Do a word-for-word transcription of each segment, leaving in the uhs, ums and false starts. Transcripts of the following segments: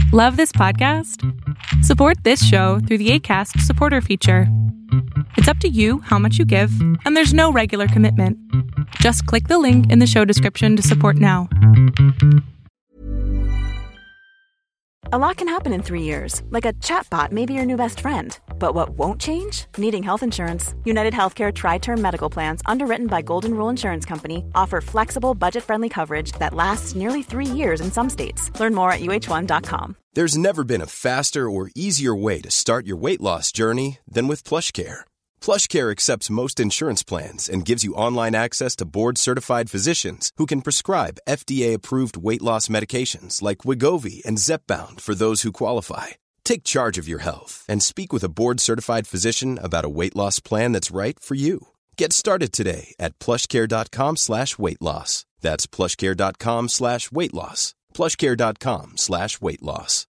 Love this podcast? Support this show through the Acast supporter feature. It's up to you how much you give, and there's no regular commitment. Just click the link in the show description to support now. A lot can happen in three years, like a chatbot may be your new best friend. But what won't change? Needing health insurance. United Healthcare Tri-Term Medical Plans, underwritten by Golden Rule Insurance Company, offer flexible, budget-friendly coverage that lasts nearly three years in some states. Learn more at U H one dot com. There's never been a faster or easier way to start your weight loss journey than with PlushCare. PlushCare accepts most insurance plans and gives you online access to board-certified physicians who can prescribe F D A-approved weight loss medications like Wegovy and Zepbound for those who qualify. Take charge of your health and speak with a board-certified physician about a weight loss plan that's right for you. Get started today at plushcare.com slash weight loss. That's plushcare.com slash weight loss. plushcare.com slash weight loss.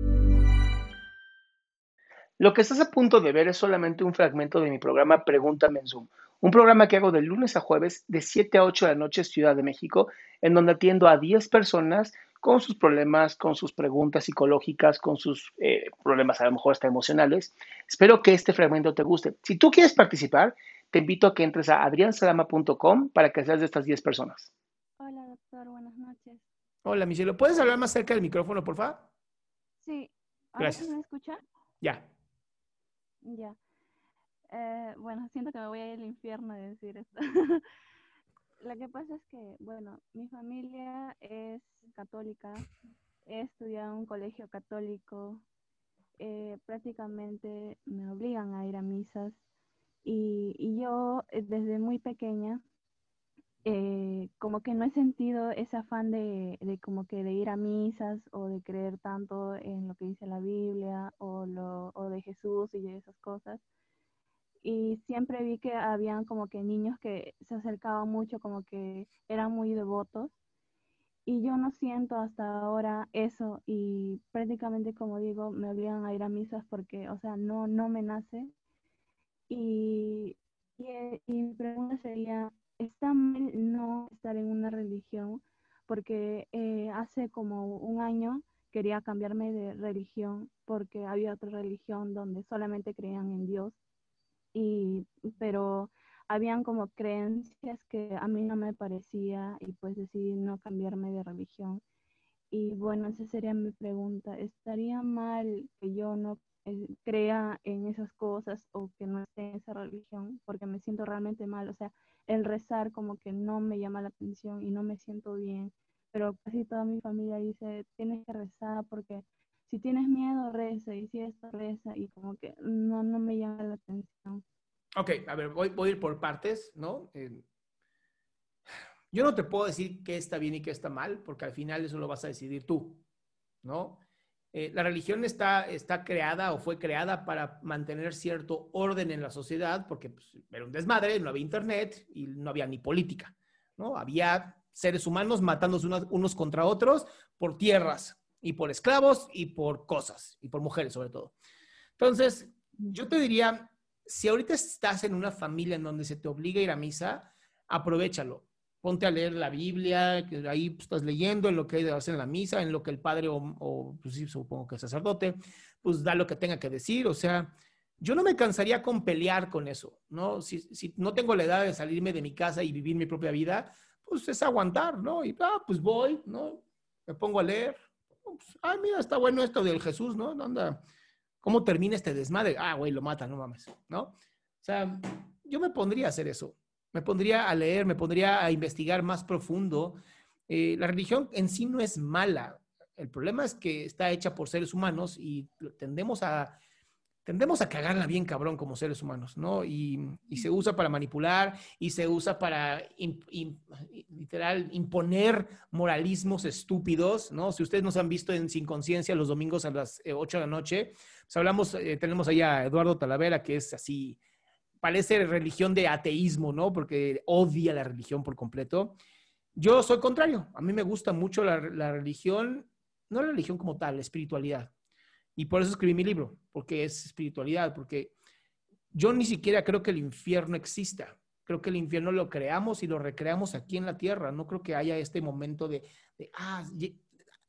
Lo que estás a punto de ver es solamente un fragmento de mi programa Pregúntame en Zoom, un programa que hago de lunes a jueves de siete a ocho de la noche Ciudad de México, en donde atiendo a diez personas con sus problemas, con sus preguntas psicológicas, con sus eh, problemas a lo mejor hasta emocionales. Espero que este fragmento te guste. Si tú quieres participar, te invito a que entres a adrian salama punto com para que seas de estas diez personas. Hola, doctor. Buenas noches. Hola, Michelle. ¿Puedes hablar más cerca del micrófono, por favor? Sí. ¿Ahora Gracias. sí me escucha? Ya. Ya. Eh, bueno, siento que me voy a ir al infierno de decir esto. Lo que pasa es que, bueno, mi familia es católica. He estudiado en un colegio católico. Eh, prácticamente me obligan a ir a misas. Y, y yo, eh, desde muy pequeña, eh, como que no he sentido ese afán de, de como que de ir a misas o de creer tanto en lo que dice la Biblia o, lo, o de Jesús y de esas cosas. Y siempre vi que habían como que niños que se acercaban mucho, como que eran muy devotos. Y yo no siento hasta ahora eso y prácticamente, como digo, me obligan a ir a misas porque, o sea, no, no me nace. Y, y, y mi pregunta sería, ¿está mal no estar en una religión? Porque eh, hace como un año quería cambiarme de religión porque había otra religión donde solamente creían en Dios, y, pero habían como creencias que a mí no me parecía y pues decidí no cambiarme de religión. Y bueno, esa sería mi pregunta. ¿Estaría mal que yo no eh, crea en esas cosas o que no esté en esa religión? Porque me siento realmente mal. O sea, el rezar como que no me llama la atención y no me siento bien. Pero casi toda mi familia dice, tienes que rezar porque si tienes miedo, reza. Y si esto, reza. Y como que no, no me llama la atención. Ok, a ver, voy, voy a ir por partes, ¿no? Eh, Yo no te puedo decir qué está bien y qué está mal, porque al final eso lo vas a decidir tú, ¿no? Eh, la religión está, está creada o fue creada para mantener cierto orden en la sociedad, porque pues, era un desmadre, no había internet y no había ni política, ¿no? Había seres humanos matándose unos, unos contra otros por tierras y por esclavos y por cosas, y por mujeres sobre todo. Entonces, yo te diría, si ahorita estás en una familia en donde se te obliga a ir a misa, aprovéchalo. Ponte a leer la Biblia, que ahí pues, estás leyendo en lo que hace en la misa, en lo que el padre o, o pues sí, supongo que el sacerdote, pues da lo que tenga que decir. O sea, yo no me cansaría con pelear con eso, ¿no? Si, si no tengo la edad de salirme de mi casa y vivir mi propia vida, pues es aguantar, ¿no? Y ah, pues voy, ¿no? Me pongo a leer. Pues, ah, mira, está bueno esto del Jesús, ¿no? Anda, ¿cómo termina este desmadre? Ah, güey, lo matan, no mames, ¿no? O sea, yo me pondría a hacer eso. Me pondría a leer, me pondría a investigar más profundo. Eh, la religión en sí no es mala. El problema es que está hecha por seres humanos y tendemos a, tendemos a cagarla bien cabrón como seres humanos, ¿no? Y, y se usa para manipular y se usa para in, in, literal imponer moralismos estúpidos, ¿no? Si ustedes nos han visto en Sin Conciencia los domingos a las ocho de la noche, pues hablamos, eh, tenemos ahí a Eduardo Talavera, que es así, parece religión de ateísmo, ¿no? Porque odia la religión por completo. Yo soy contrario. A mí me gusta mucho la, la religión, no la religión como tal, la espiritualidad. Y por eso escribí mi libro, porque es espiritualidad, porque yo ni siquiera creo que el infierno exista. Creo que el infierno lo creamos y lo recreamos aquí en la tierra. No creo que haya este momento de, de ah,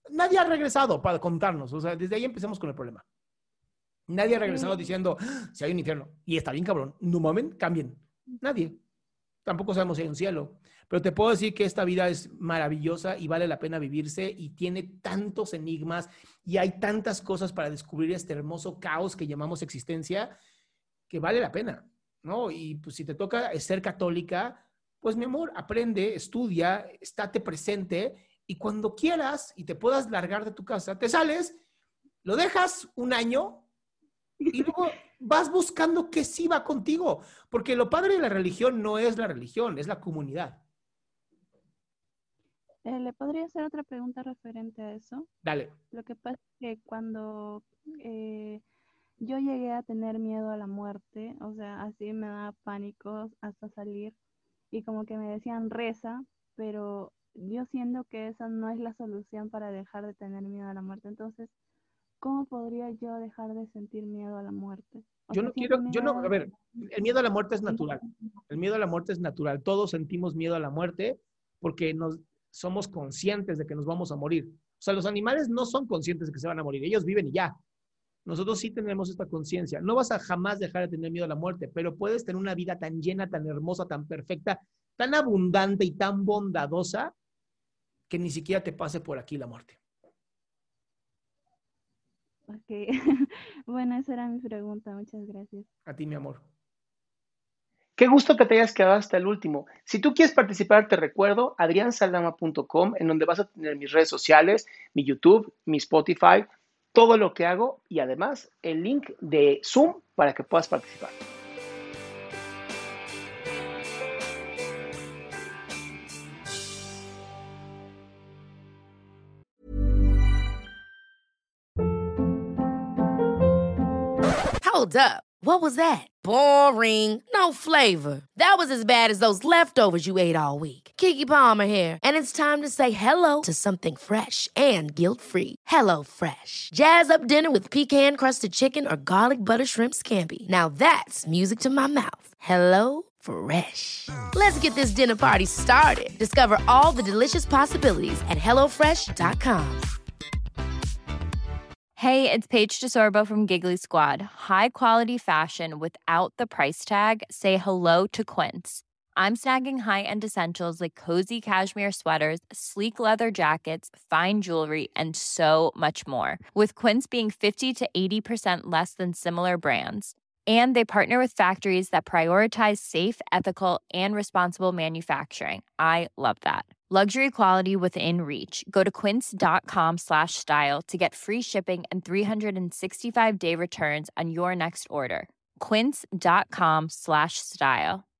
Nadie ha regresado para contarnos. O sea, desde ahí empecemos con el problema. Nadie ha regresado Sí. diciendo, ¡ah! Si hay un infierno. Y está bien, cabrón. No mamen, cambien. Nadie. Tampoco sabemos si hay un cielo. Pero te puedo decir que esta vida es maravillosa y vale la pena vivirse y tiene tantos enigmas y hay tantas cosas para descubrir este hermoso caos que llamamos existencia que vale la pena, ¿no? Y pues si te toca ser católica, pues mi amor, aprende, estudia, estate presente y cuando quieras y te puedas largar de tu casa, te sales, lo dejas un año y luego vas buscando qué sí va contigo. Porque lo padre de la religión no es la religión, es la comunidad. Eh, ¿Le podría hacer otra pregunta referente a eso? Dale. Lo que pasa es que cuando eh, yo llegué a tener miedo a la muerte, o sea, así me daba pánico hasta salir y como que me decían reza, pero yo siento que esa no es la solución para dejar de tener miedo a la muerte. Entonces, ¿cómo podría yo dejar de sentir miedo a la muerte? O Yo sea, no quiero, siento yo no, a miedo. ver, el miedo a la muerte es natural. El miedo a la muerte es natural. Todos sentimos miedo a la muerte porque nos somos conscientes de que nos vamos a morir. O sea, los animales no son conscientes de que se van a morir. Ellos viven y ya. Nosotros sí tenemos esta conciencia. No vas a jamás dejar de tener miedo a la muerte, pero puedes tener una vida tan llena, tan hermosa, tan perfecta, tan abundante y tan bondadosa que ni siquiera te pase por aquí la muerte. Ok. Bueno, esa era mi pregunta. Muchas gracias. A ti, mi amor. Qué gusto que te hayas quedado hasta el último. Si tú quieres participar, te recuerdo adrian saldama punto com, en donde vas a tener mis redes sociales, mi YouTube, mi Spotify, todo lo que hago y además el link de Zoom para que puedas participar. Hold up. What was that? Boring. No flavor. That was as bad as those leftovers you ate all week. Keke Palmer here, and it's time to say hello to something fresh and guilt-free. Hello Fresh. Jazz up dinner with pecan-crusted chicken or garlic butter shrimp scampi. Now that's music to my mouth. Hello Fresh. Let's get this dinner party started. Discover all the delicious possibilities at hello fresh dot com. Hey, it's Paige DeSorbo from Giggly Squad. High quality fashion without the price tag. Say hello to Quince. I'm snagging high-end essentials like cozy cashmere sweaters, sleek leather jackets, fine jewelry, and so much more. With Quince being fifty to eighty percent less than similar brands. And they partner with factories that prioritize safe, ethical, and responsible manufacturing. I love that. Luxury quality within reach. Go to quince.com slash style to get free shipping and three sixty-five day returns on your next order. Quince.com slash style.